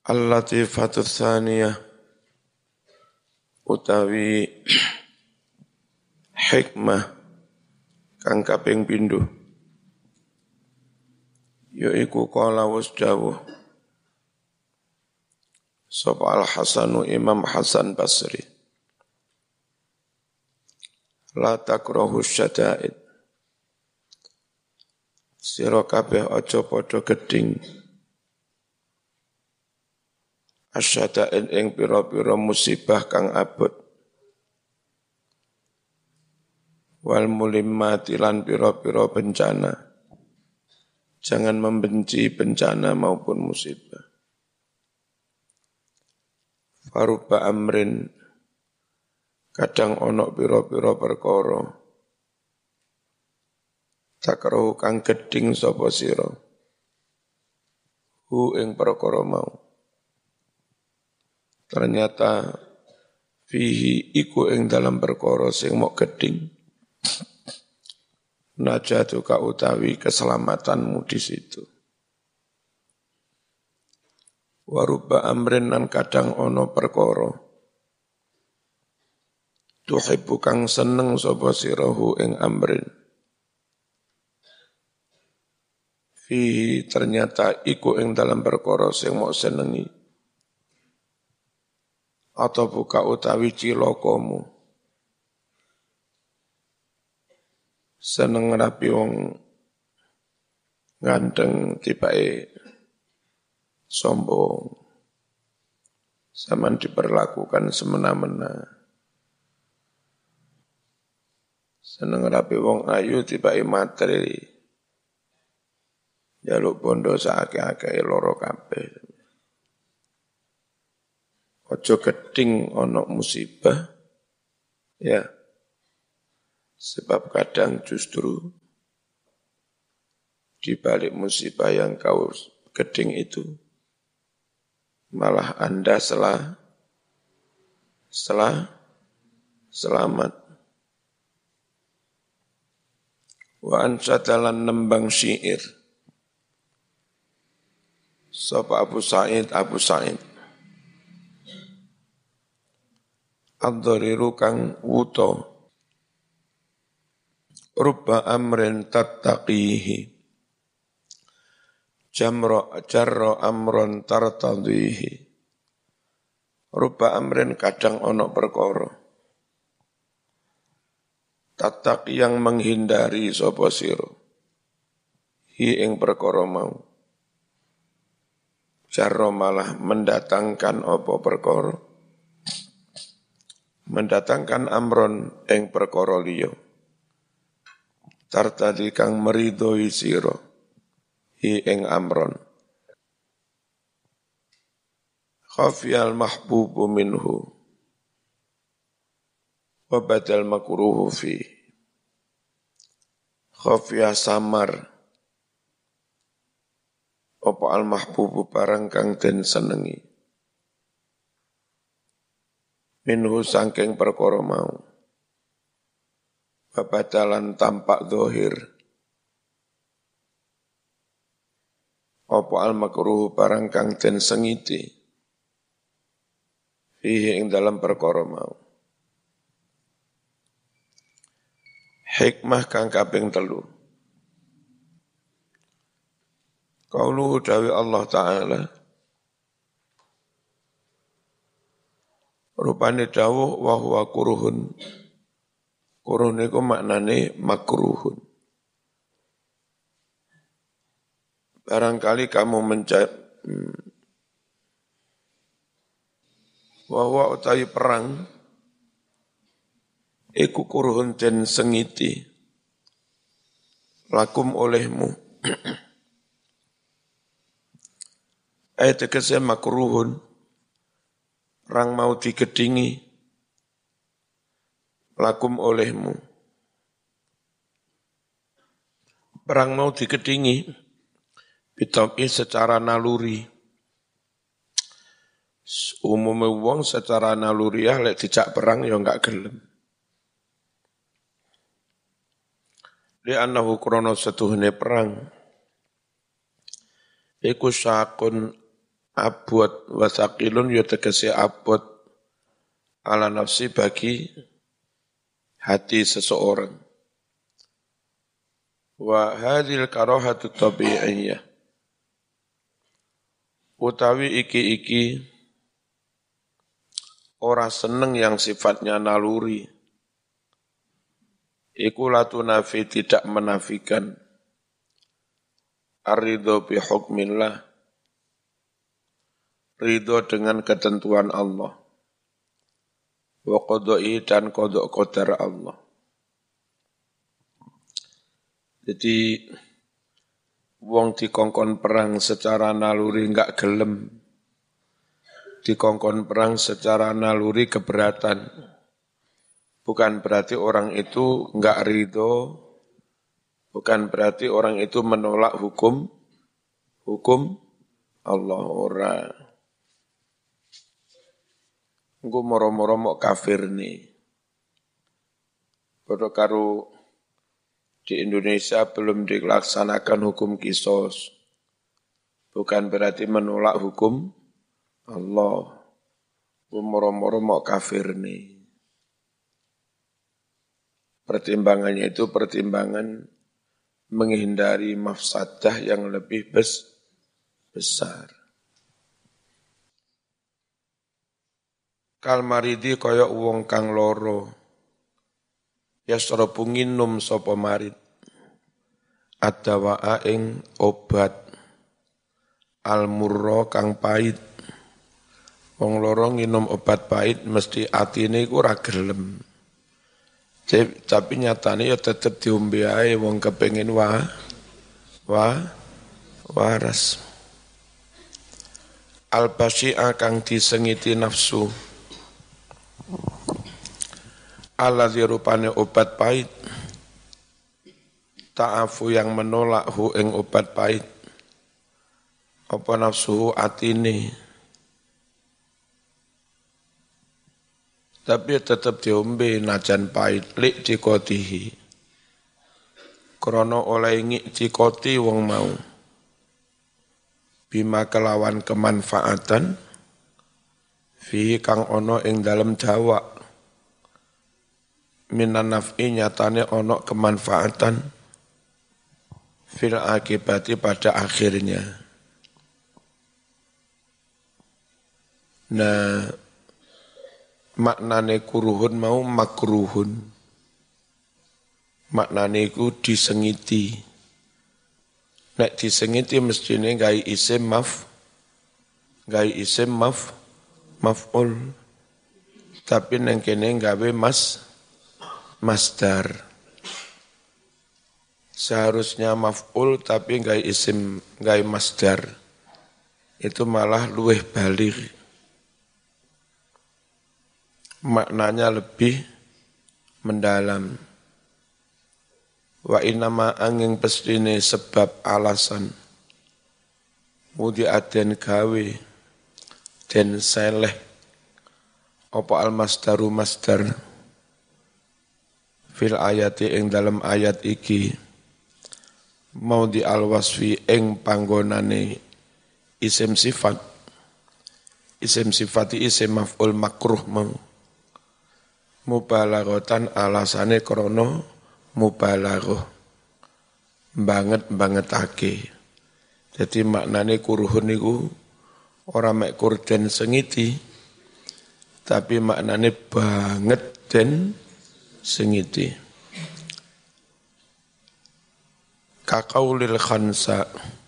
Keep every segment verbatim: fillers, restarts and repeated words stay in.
Al-Latifatu Tsaniyah utawi hikmah kang kaping pindho yaiku qala was dawuh sapa Al-Hasanu Imam Hasan Basri la takrahu syada'id sira kabeh aja padha gedhing asyada'id ing pira-pira musibah kang abot wal mulimmati lan pira-pira bencana. Jangan membenci bencana maupun musibah. Faruba amrin kadang ono pira-pira perkara takrahu kang gedhing sapa sira hu ing perkara mau. Ternyata fihi iku ing dalam perkara sing mok gedhing najatuka utawi keselamatanmu di situ. Waruba amrin nan kadang ono perkara tuhibbu kang seneng sapa sirahu ing amrin. Fihi ternyata iku ing dalam perkara sing mok senengi atau buka utawi cilokomu. Seneng rapi wong ganteng tibae sombong, zaman diperlakukan semena-mena. Seneng rapi wong ayu tibae materi, jaluk bondo saake-ake loro kabeh. Ojo gedhing ono musibah, ya. Sebab kadang justru di balik musibah yang kau gedhing itu, malah Anda selah, selah, selamat. Wa ansadalan nembang syair. Sapa Abu Sa'id, Abu Sa'id. Ad-dhariru kang wuto. Rubba amrin tattaqihi. Jamro jarro amron tartadhihi. Rubba amrin kadang ono perkara. Tattaqi yang menghindari sapa sira. Hi ing perkara mau. Jarro malah mendatangkan apa perkara. Mendatangkan amron ing perkara liya. Tartadi kang meridhoi sira hi ing amron. Khafiyal mahbubu minhu wa badal makruhu fi. Khafiyah samar apa al mahbubu barang kang den senengi minhu sangking perkara mau. Babadalan tampak zahir. Apa al-makruh barang kang den sengiti. Fihi ing dalam perkara mau. Hikmah kang kaping telu. Qauluhu dawi Allah Ta'ala. Rupane dawuh wa huwa kuruhun. Kuruh niku maknane makruhun. Barangkali kamu mencari hmm, bahwa utawi perang iku kuruhun den sengiti lakum olehmu. Ayat tegese makruhun perang mau digedingi lakum olehmu. Perang mau digedingi bitawi secara naluri. Umumnya wong secara naluriah lek dijak perang ya enggak gelem. Li annahu krana setuhne perang iku sakun abot wa thaqilun ya tegese abot ala nafsi bagi hati seseorang. Wa hadhil karahatu tabi'iyyah. Utawi iki-iki ora seneng yang sifatnya naluri. Iku latu nafi tidak menafikan. Ar-ridho bi hukmillah. Ridho dengan ketentuan Allah. Wa qadai dan qada qadar Allah. Jadi wong dikongkon perang secara naluri enggak gelem. Dikongkon perang secara naluri keberatan. Bukan berarti orang itu enggak ridho. Bukan berarti orang itu menolak hukum hukum Allah ora. Engko moro-moro mok kafir nih. Padha karo di Indonesia belum dilaksanakan hukum kisos. Bukan berarti menolak hukum Allah. Moro-moro mok kafir nih. Pertimbangannya itu pertimbangan menghindari mafsadah yang lebih bes, besar. Kalmaridi kaya wong kang loro. Yasrabu nginum sapa marid. Ad-dawa'a ing obat. Al-murra kang pait. Wong loro nginum obat pait mesti atine iku ora gelem. Tapi nyatane ya tetep diombe ae wong kepengin wa wa waras. Al-basyi'a kang disengiti nafsu. Alladzi rupane obat pahit, ta'afu yang menolak hu ing obat pahit, apa nafsu atine, tapi tetap diombe najan pahit, lik dikotihi, krono oleh ngik dikoti wong mau, bima kelawan kemanfaatan, fi kang ono ing dalem dawa, minan naf'i nyatane ono kemanfaatan fil akibati pada akhirnya. Nah, maknane kuruhun mau makruhun. Maknane iku disengiti. Nek disengiti mestine gawe isim maf, gawe isim maf, maf'ul. Tapi neng kene gawe mas masdar. Seharusnya maf'ul tapi gawe isim, gawe masdar. Itu malah luweh balik. Maknanya lebih mendalam. Wa inama angin pestine sebab alasan. Mudi aden gawe den seleh apa al masdaru masdar fil ayati ing dalam ayat iki mau di al wasfi ing panggonane isim sifat isim sifati isim maf'ul makruh mau mubalaghatan alasane krana mubalaghah banget bangetake. Jadi maknane kuruhun niku ora mek kurden sengiti tapi maknane banget den sengiti. Kaqaulil khansa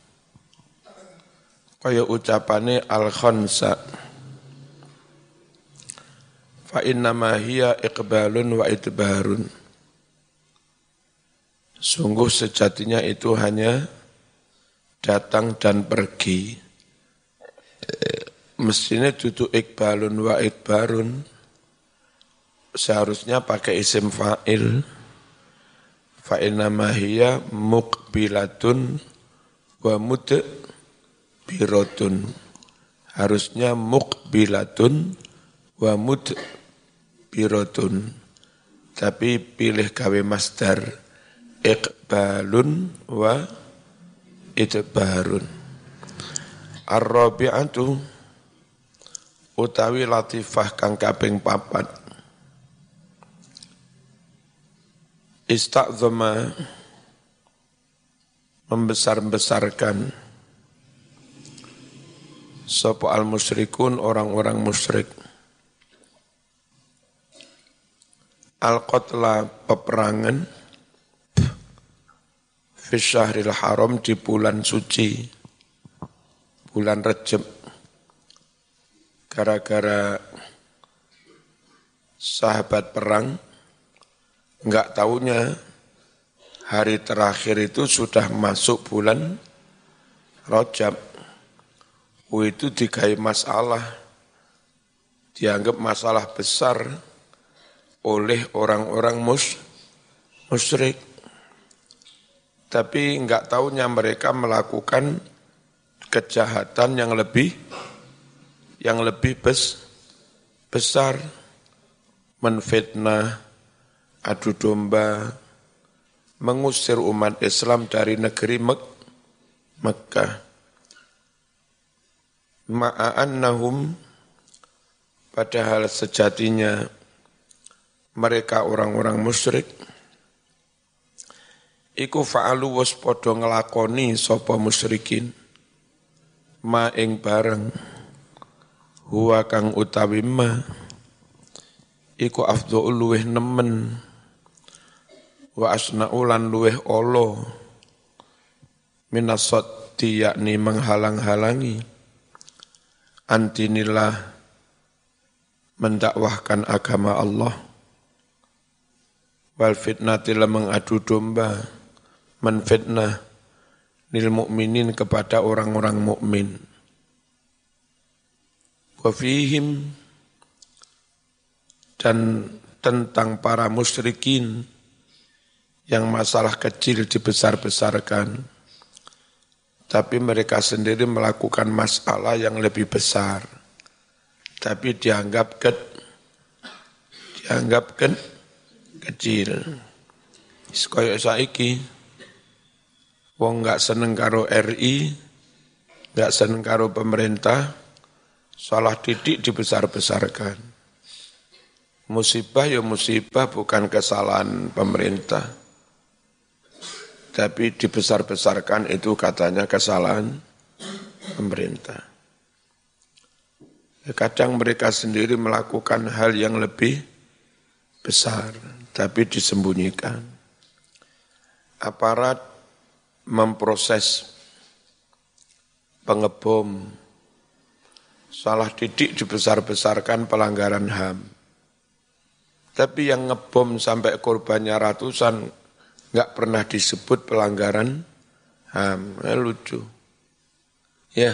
kaya ucapane al khansa fa inna ma hiya iqbalun wa idbarun. Sungguh sejatinya itu hanya datang dan pergi. Mestinya duduk iqbalun wa idbarun. Seharusnya pakai isim fa'il. Fa inna ma hiya muqbilatun wa mudbiratun. Harusnya muqbilatun wa mudbiratun. Tapi pilih gawe masdar iqbalun wa idbarun. Ar-rabi'atu utawi latifah kang kaping papat. Ista'zama membesar-besarkan sapa al-musyrikun orang-orang musyrik al-qatla peperangan fi syahril haram di bulan suci bulan Rejab gara-gara sahabat perang enggak taunya hari terakhir itu sudah masuk bulan Rajab. Oh, itu digawe masalah, dianggap masalah besar oleh orang-orang mus, musyrik. Tapi enggak tahunya mereka melakukan kejahatan yang lebih yang lebih bes, besar, menfitnah, adu domba, mengusir umat Islam dari negeri Mek Mekkah. Ma'annahum padahal sejatinya mereka orang-orang musyrik iku fa'alu was podo ngelakoni sapa musyrikin ma ing bareng huwa kang utawi ma iku afdhul luweh nemen wa asnaulan luweh olo minasati yakni menghalang-halangi antinillah mendakwahkan agama Allah wal fitnati mengadu domba menfitnah lil mukminin kepada orang-orang mukmin wa fihim dan tentang para musyrikin yang masalah kecil dibesar-besarkan, tapi mereka sendiri melakukan masalah yang lebih besar, tapi dianggap ke, dianggap ke, kecil. Koyok saiki, wong nggak seneng karo R I, nggak seneng karo pemerintah, salah didik dibesar-besarkan. Musibah ya musibah, bukan kesalahan pemerintah. Tapi dibesar-besarkan itu katanya kesalahan pemerintah. Kadang mereka sendiri melakukan hal yang lebih besar, tapi disembunyikan. Aparat memproses pengebom, salah didik dibesar-besarkan pelanggaran H A M. Tapi yang ngebom sampai korbannya ratusan, enggak pernah disebut pelanggaran H A M. Nah, lucu. Ya.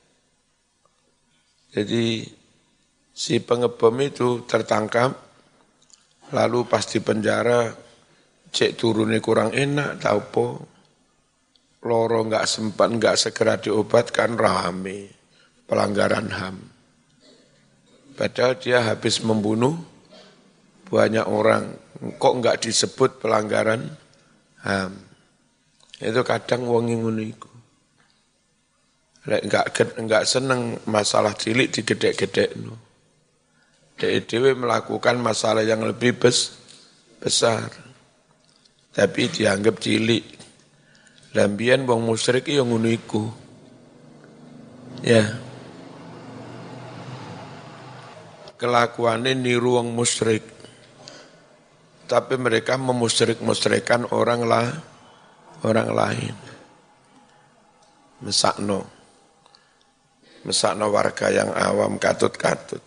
Jadi si pengebom itu tertangkap, lalu pas di penjara, cek turunnya kurang enak, tahu po. Loro enggak sempat, enggak segera diobatkan, rame. Pelanggaran H A M. Padahal dia habis membunuh banyak orang. Kok enggak disebut pelanggaran H A M. Itu kadang wong ngono iku. Lek enggak enggak seneng masalah cilik digedek-gedekno. Dhek dhewe melakukan masalah yang lebih bes, besar. Tapi dianggap cilik. Lambian wong musyrik yo ngono iku. Ya. Kelakuane niru wong musyrik. Tapi mereka memusyrik-musyrikan orang lah, orang lain. Mesakno. Mesakno warga yang awam katut-katut.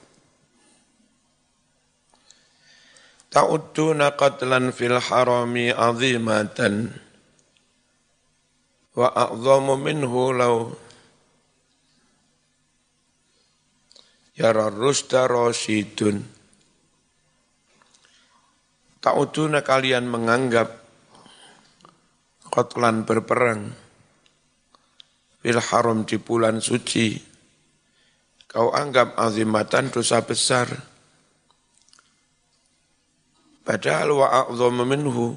Ta'udduna qatlan fil harami azimatan wa a'zamu minhu law yara rusda rasyidun. Ta'uduna kalian menganggap qatlan berperang fil haram di bulan suci, kau anggap azimatan dosa besar. Padahal wa a'zamu minhu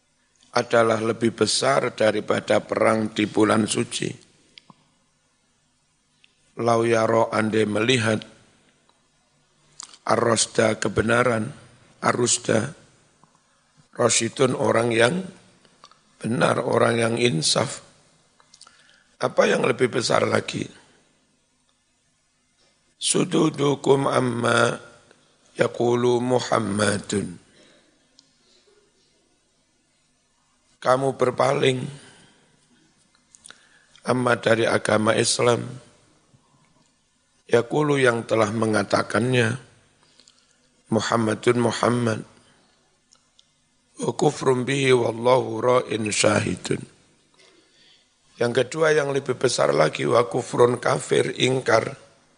adalah lebih besar daripada perang di bulan suci. lau yaro ande melihat ar-rasda kebenaran, ar-rusda, rasyidun orang yang benar, orang yang insaf. Apa yang lebih besar lagi? Sududukum amma yaqulu Muhammadun. Kamu berpaling amma dari agama Islam, yaqulu yang telah mengatakannya Muhammadun Muhammad, wa kufrum bihi wallahu ra'in syahidun. Yang kedua yang lebih besar lagi, wa kufrun kafir, ingkar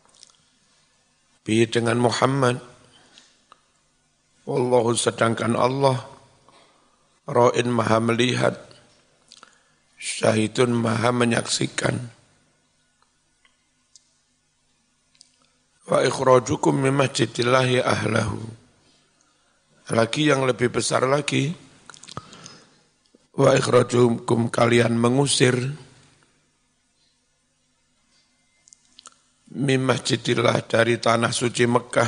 bihi dengan Muhammad, wallahu sedangkan Allah ra'in maha melihat, syahidun maha menyaksikan. Wa ikhrajukum min masjidillahi ahlahu. Lagi yang lebih besar lagi, wa ikhrajukum kalian mengusir min masjidillah dari tanah suci Mekah,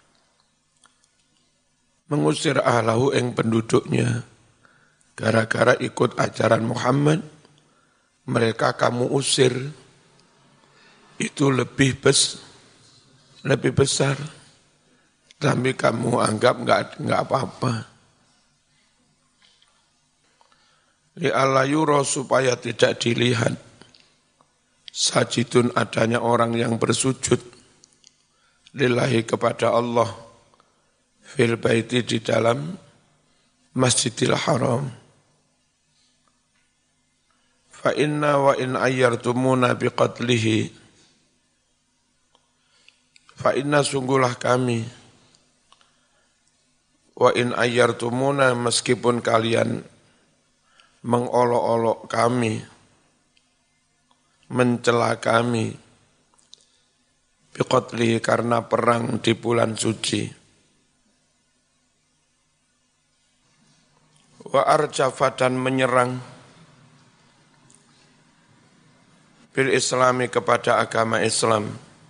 mengusir ahlahu ing penduduknya, gara-gara ikut ajaran Muhammad, mereka kamu usir, itu lebih bes, lebih besar. Tapi kamu anggap enggak enggak apa-apa. Li alla yura supaya tidak dilihat sajidun adanya orang yang bersujud lillahi kepada Allah fil baiti di dalam Masjidil Haram. Fa inna wa in ayyartumuna biqatlihi, fa inna sungguhlah kami, wa in ayyartumuna meskipun kalian mengolok-olok kami, mencela kami, biqatlihi karena perang di bulan suci, wa arjafa dan menyerang bil islami kepada agama Islam,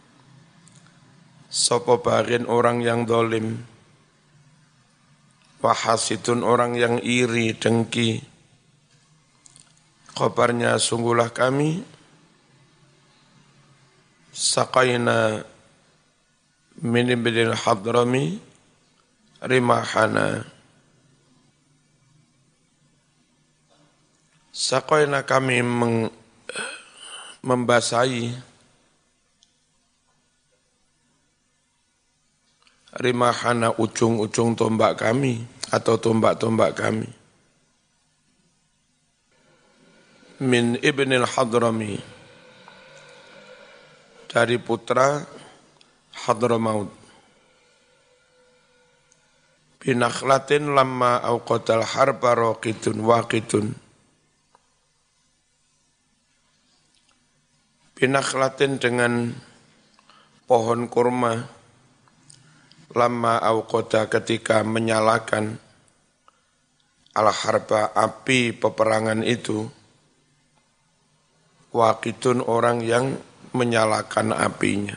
sapa barin orang yang dolim, wahasidun orang yang iri, dengki. Kabarnya sungguhlah kami saqaina min ibnil hadrami rimahana. Saqaina kami meng, membasahi rimahana ujung-ujung tombak kami atau tombak-tombak kami. Min ibnil hadrami, dari putra Hadramaut. Binakhlatin lamma awqatal harba raqidun waqidun. Binakhlatin dengan pohon kurma, lama awqada ketika menyalakan al-harba api peperangan itu, waqidun orang yang menyalakan apinya.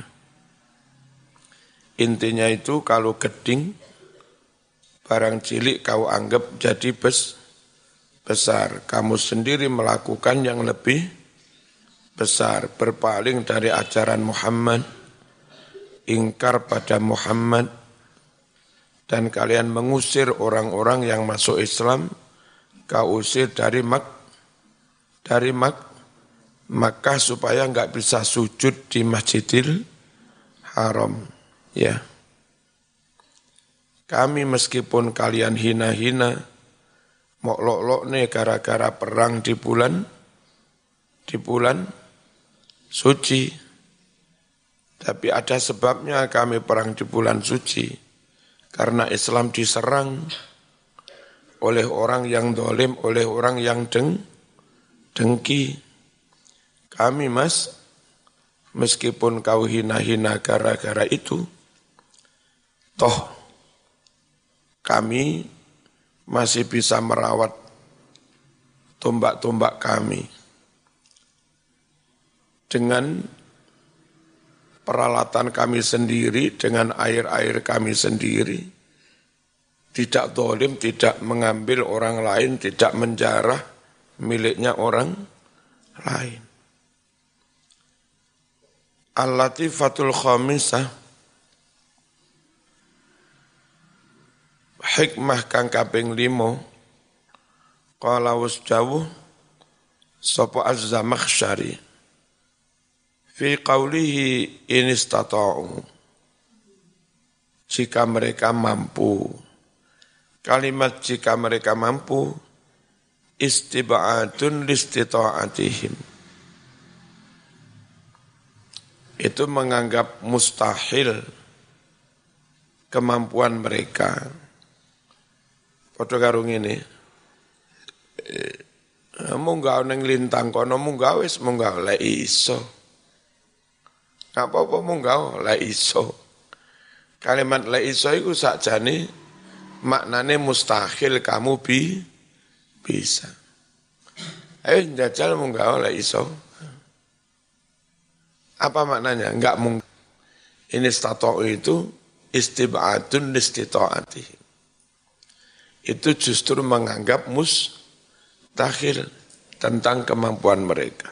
Intinya itu kalau geding, barang cilik kau anggap jadi bes, besar. Kamu sendiri melakukan yang lebih besar, berpaling dari ajaran Muhammad, ingkar pada Muhammad, dan kalian mengusir orang-orang yang masuk Islam, kau usir dari Mak, dari Mak, Makkah supaya enggak bisa sujud di Masjidil Haram. Ya. Kami meskipun kalian hina-hina, moklok-lok nih gara-gara perang di bulan, di bulan suci. Tapi ada sebabnya kami perang di bulan suci. Karena Islam diserang oleh orang yang dolim, oleh orang yang deng, dengki. Kami mas, meskipun kau hina-hina gara-gara itu, toh kami masih bisa merawat tombak-tombak kami dengan peralatan kami sendiri dengan air-air kami sendiri. Tidak zalim, tidak mengambil orang lain, tidak menjarah miliknya orang lain. Al-Latifatul Khamisah, hikmah kang kaping limo, qala wasjawu sapa Az-Zamakhsyari fi qawlihi in istata'u, jika mereka mampu. Kalimat jika mereka mampu istib'adun listita'atihim, itu menganggap mustahil kemampuan mereka. Padha karo ngene, munggah ning lintang kono munggah wis munggah lek iso. Gak apa-apa munggah lek iso. Kalimat lek iso iku sakjane maknane mustahil kamu bi bisa. Ayo jajal munggah lek iso. Apa maknanya? Enggak mungkin. Ini istata'u itu istib'adun listita'atih. Itu justru menganggap mustahil tentang kemampuan mereka.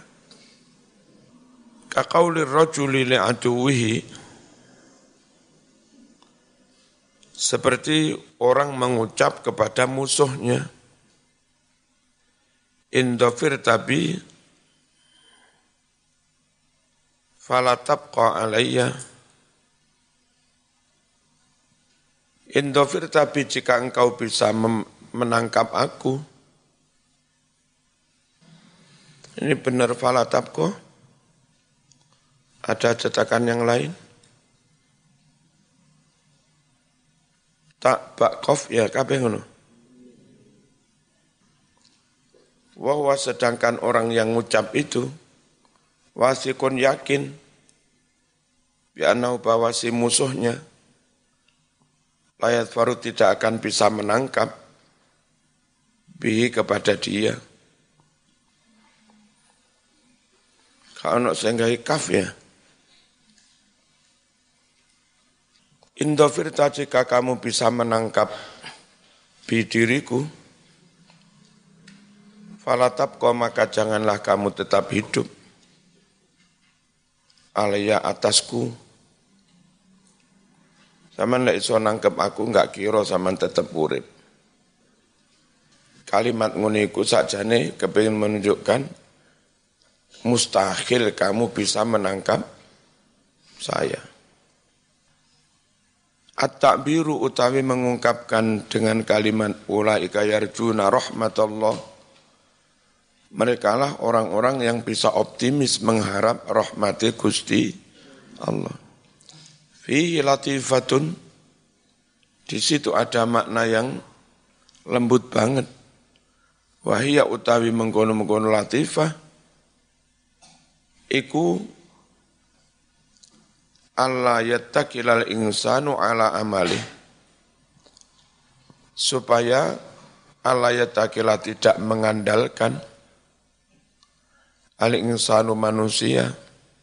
Kaqaulir rajuli li'aduwihi, seperti orang mengucap kepada musuhnya, indofir tabi fala tabqa alayya, indofir tapi jika engkau bisa menangkap aku. Ini benar fala tabqa? Ada cetakan yang lain? Tak bakof ya kabeh ngono. Wahwa sedangkan orang yang ngucap itu wasikun yakin bi'annahu bahwa si musuhnya layat faru tidak akan bisa menangkap bihi kepada dia. Kalau sehingga kaf ya. Indofirta jika kamu bisa menangkap bidiriku, falatabqa maka janganlah kamu tetap hidup alaya atasku. Saman lek iso nangkep aku enggak kira saman tetep urip. Kalimat ngene iku sakjane kepengin menunjukkan mustahil kamu bisa menangkap saya. At-ta'biru utawi mengungkapkan dengan kalimat ulaika yarjuna rahmatullah. Mereka lah orang-orang yang bisa optimis mengharap rahmati Gusti Allah. Fihi latifatun, di situ ada makna yang lembut banget. Wahia utawi mengkono-mengkono latifah, iku Allah yattakilal insanu ala amali, supaya Allah yattakila tidak mengandalkan al insanu manusia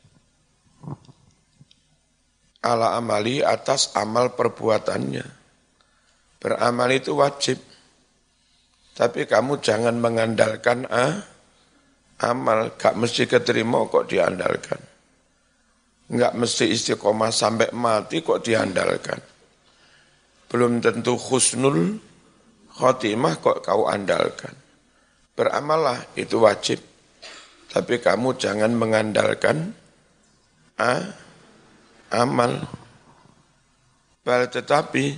ala amali atas amal perbuatannya. Beramal itu wajib, tapi kamu jangan mengandalkan ah, amal, gak mesti keterima kok diandalkan. Enggak mesti istiqomah sampai mati kok diandalkan. Belum tentu husnul khotimah kok kau andalkan. Beramallah itu wajib, tapi kamu jangan mengandalkan ah, amal. Bal tetapi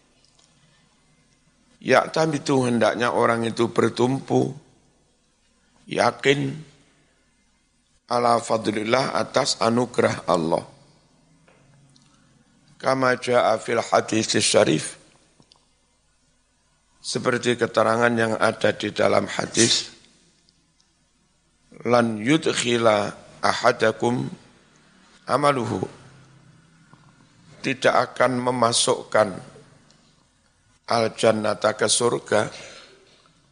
ya tapi itu hendaknya orang itu bertumpu yakin ala fadlillah atas anugerah Allah. Kama jaa fil hadis syarif, seperti keterangan yang ada di dalam hadis, lan yudkhila ahadakum amaluhu, tidak akan memasukkan al-jannata ke surga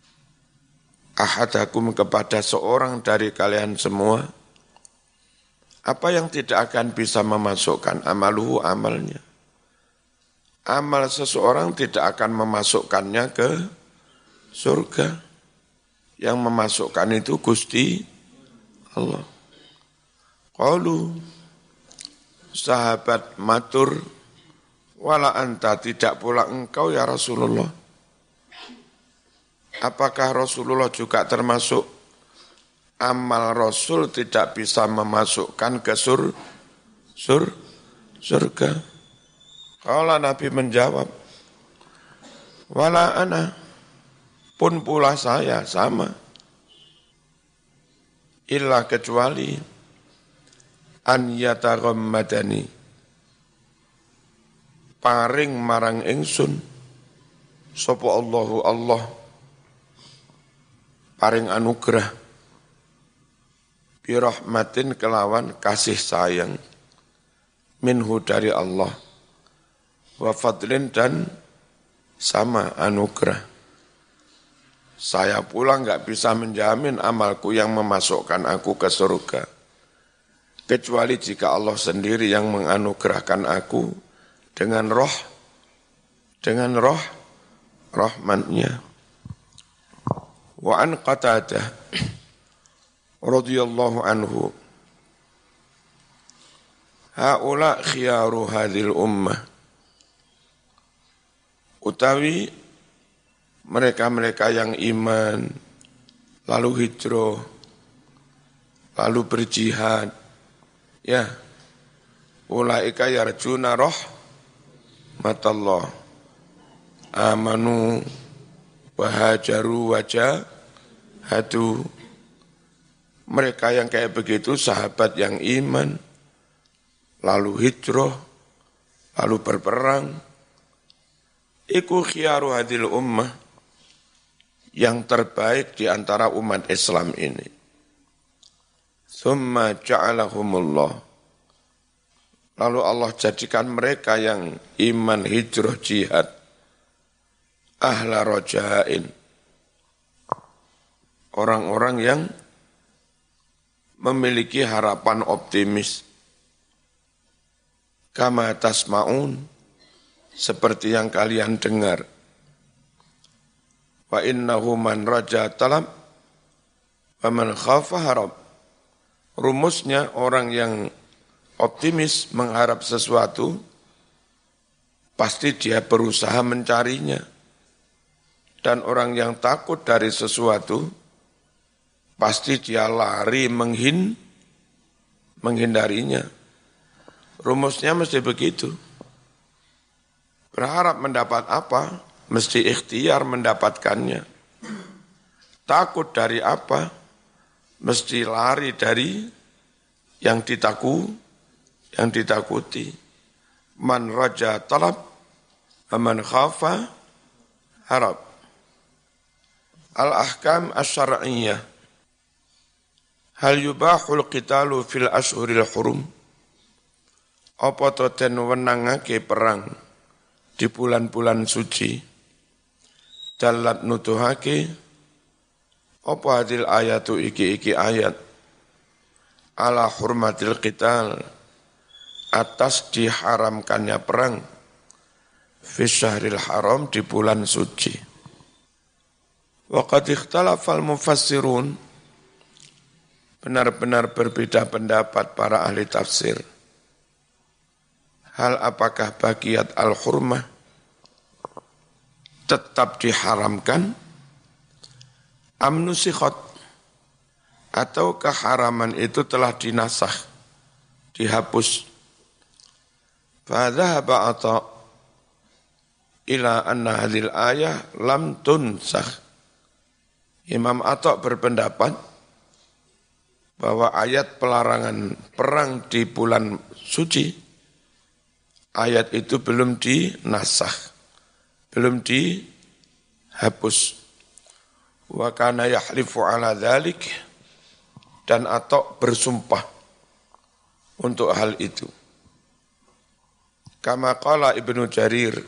ahadakum kepada seorang dari kalian semua, Apa yang tidak akan bisa memasukkan? Amaluhu, amalnya. Amal seseorang tidak akan memasukkannya ke surga. Yang memasukkan itu Gusti Allah. Qalu, sahabat matur, wala anta, tidak pula engkau ya Rasulullah. Apakah Rasulullah juga termasuk amal Rasul tidak bisa memasukkan ke sur, sur, surga? Kalau Nabi menjawab, wala ana, pun pula saya sama. Illa kecuali an yataghammadani, paring marang ingsun sapa Allahu Allah, paring anugerah birahmatin kelawan kasih sayang minhu dari Allah, wa fadlin dan sama anugerah. Saya pula enggak bisa menjamin amalku yang memasukkan aku ke surga, kecuali jika Allah sendiri yang menganugerahkan aku dengan roh, dengan roh, rahmatnya. Wa an Qatadah radhiyallahu anhu, haula khiyaru hadhil ummah, utawi mereka-mereka yang iman, lalu hijrah, lalu berjihad, ya, ulaika yarjuna rahmatallah, amanu wahajaru wajahadu. Mereka yang kayak begitu, sahabat yang iman, lalu hijrah, lalu berperang, iku khiyaru hadil ummah, yang terbaik di antara umat Islam ini. Tsumma ja'alahumullah, lalu Allah jadikan mereka yang iman, hijrah, jihad, ahla roja'in, orang-orang yang memiliki harapan optimis. Kama tasma'un, seperti yang kalian dengar. Wa innahu man raja talab wa man khafa harab. Rumusnya orang yang optimis mengharap sesuatu, pasti dia berusaha mencarinya. Dan orang yang takut dari sesuatu, pasti dia lari menghin, menghindarinya. Rumusnya mesti begitu. Berharap mendapat apa? Mesti ikhtiar mendapatkannya. Takut dari apa? Mesti lari dari yang ditaku, yang ditakuti. Man raja talab, man khafa harab. Al-ahkam asy-syar'iyyah. Hal yubahul qitalu fil ashhuril hurum? Apa to den wenangake perang di bulan-bulan suci? Dalat nutuhake apa hadil ayatu iki-iki ayat ala hurmatil qital, atas diharamkannya perang fi syahril haram, di bulan suci. Wa qad ikhtalafal mufassirun, benar-benar berbeda pendapat para ahli tafsir. Hal apakah bagiat al-hurmah tetap diharamkan, amnusikhot, atau keharaman itu telah dinasakh, dihapus. Fadhahaba Atha ila anna hadhil ayah lam tunsakh. Imam Atha berpendapat bahwa ayat pelarangan perang di bulan suci, ayat itu belum dinasakh, belum dihapus. Wa kana yahlifu ala dzalik, dan Atha bersumpah untuk hal itu. Kama qala Ibnu Jarir,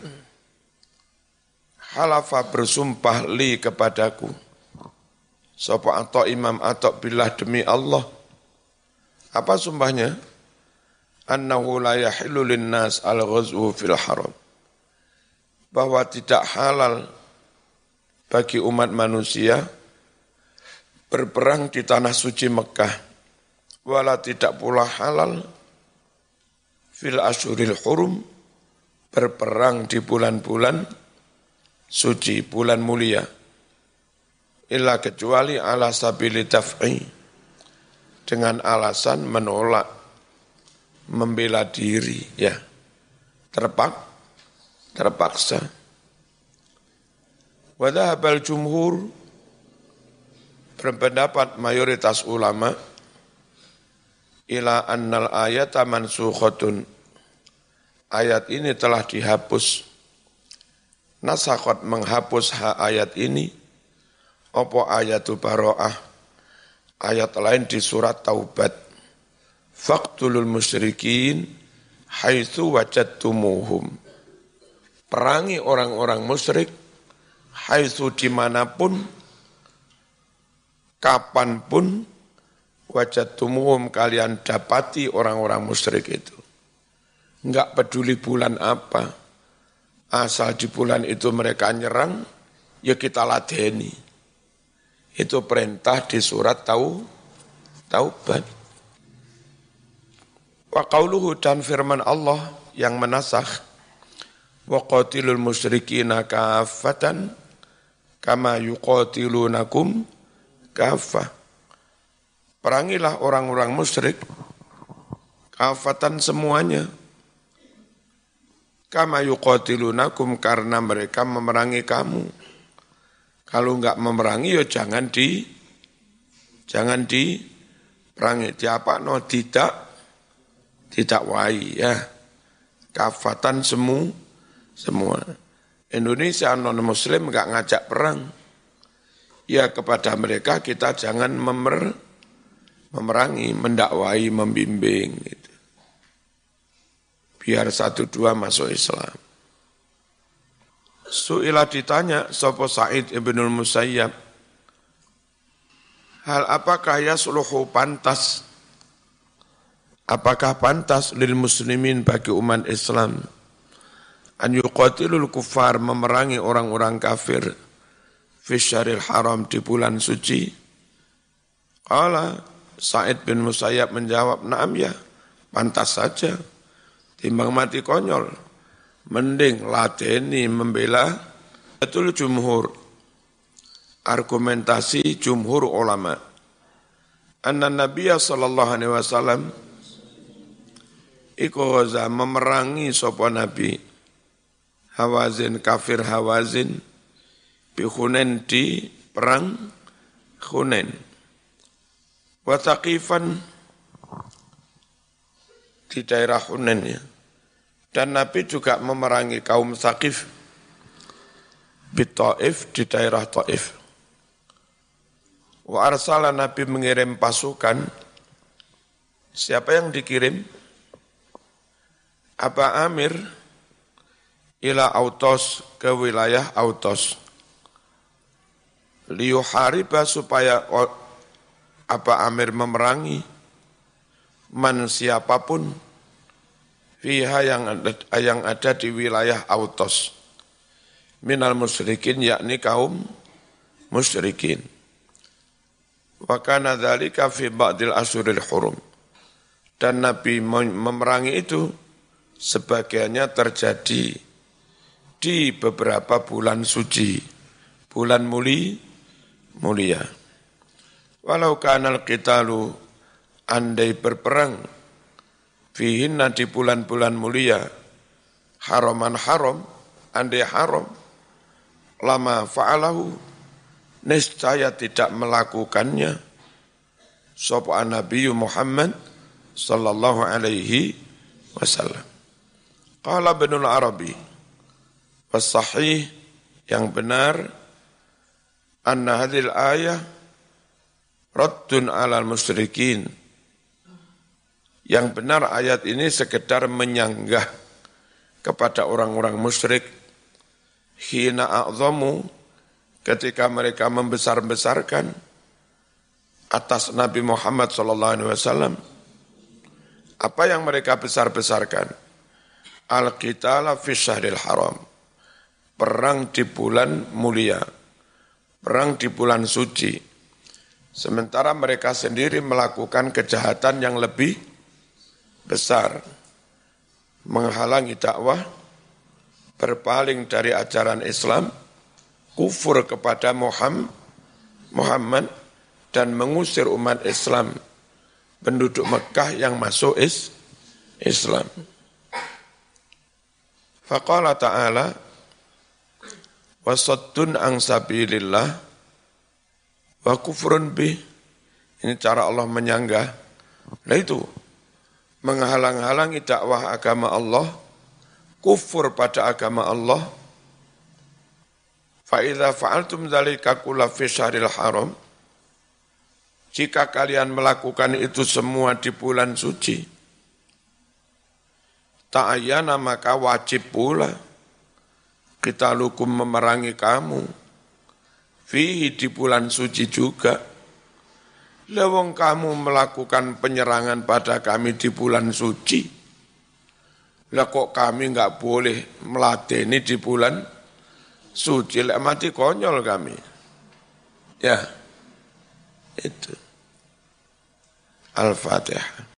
halafa bersumpah li kepadaku, sapa Atha Imam Atha billah demi Allah, Apa sumpahnya? Annahu la yahillu linnas al-ghazwu fil haram. Bahwa tidak halal bagi umat manusia berperang di tanah suci Mekah. Wala tidak pula halal fil asyuril hurum berperang di bulan-bulan suci, bulan mulia. Illa kecuali ala sabili daf'i, dengan alasan menolak, membela diri, ya, terpak, terpaksa. Wadhahabal jumhur, berpendapat mayoritas ulama, ila annal ayata mansukhatun, ayat ini telah dihapus, nasakhat menghapus ha ayat ini, apa ayatu baro'ah, ayat lain di surat Taubat, faqtulul musyrikin haitsu wajadtumuhum, perangi orang-orang musyrik haitsu dimanapun, kapanpun, wajadtumuhum kalian dapati orang-orang musyrik itu. Enggak peduli bulan apa, asal di bulan itu mereka nyerang, ya kita ladeni. Itu perintah di surat Tau, Taubat. Wa qauluhu, dan firman Allah yang menasakh, wa qatilul musyrikina kaffatan kama yuqatilunakum kaffah. Perangilah orang-orang musyrik kafatan semuanya, kama yuqatilunakum, karena mereka memerangi kamu. Kalau enggak memerangi ya jangan di jangan diperangi. Diapa no tidak tidak wai ya. Kafatan semu semua. Indonesia non muslim enggak ngajak perang. Ya kepada mereka kita jangan memer, memerangi, mendakwai, membimbing gitu. Biar satu dua masuk Islam. Su'ila ditanya sapa Sa'id ibnul Musayyab, hal apakah yasluhu pantas, apakah pantas lil muslimin bagi umat Islam an yuqatilul kuffar, memerangi orang-orang kafir fi syahril haram, di bulan suci? Qala, Sa'id bin Musayyab menjawab, na'am ya, pantas saja, timbang mati konyol. Mending lateni membela. Betul jumhur, argumentasi jumhur ulama. Anna Nabiya sallallahu alaihi wasallam iku ghaza, memerangi sapa Nabi Hawazin, kafir Hawazin, bi Hunain, di perang Hunain. Wa Thaqifan, di daerah Hunain ya. Dan Nabi juga memerangi kaum Thaqif di Taif, di daerah Taif. Wa arsala, Nabi mengirim pasukan. Siapa yang dikirim? Aba Amir ila Autos, ke wilayah Autos. Liyuhariba, supaya Aba Amir memerangi man siapapun fiha, yang ada, yang ada di wilayah Autos, minal musyrikin, yakni kaum musyrikin. Wa kana dzalika fi ba'dil asyuril hurum, dan Nabi memerangi itu sebagiannya terjadi di beberapa bulan suci, bulan muli mulia. Walau kanal qitalu, andai berperang, fihinna, di bulan-bulan mulia, haraman haram, andai haram, lama fa'alahu, niscaya tidak melakukannya sapa Nabi Muhammad sallallahu alaihi wasallam. Qala Ibnul Arabi, was-sahih, yang benar, anna hadhil ayah raddun 'alal musyrikin, yang benar ayat ini sekedar menyanggah kepada orang-orang musyrik, hina a'zamu, ketika mereka membesar-besarkan atas Nabi Muhammad sallallahu alaihi wasallam Apa yang mereka besar-besarkan? Al-qitala fi syahril haram. Perang di bulan mulia. Perang di bulan suci. Sementara mereka sendiri melakukan kejahatan yang lebih besar. Menghalangi dakwah, berpaling dari ajaran Islam, kufur kepada Muhammad, dan mengusir umat Islam, penduduk Mekah yang masuk is, Islam. Faqala ta'ala, wasaddun an sabilillah, wa kufrun bih. Ini cara Allah menyanggah. Nah itu, menghalang-halangi dakwah agama Allah, kufur pada agama Allah. Fa idza fa'altum dzalika kulla fi syahril haram, jika kalian melakukan itu semua di bulan suci, ta'ayyana maka wajib pula kita lukum memerangi kamu, fihi di bulan suci juga. Lewong kamu melakukan penyerangan pada kami di bulan suci, lah kok kami enggak boleh meladeni di bulan suci, lah mati konyol kami. Ya, itu. Al-Fatihah.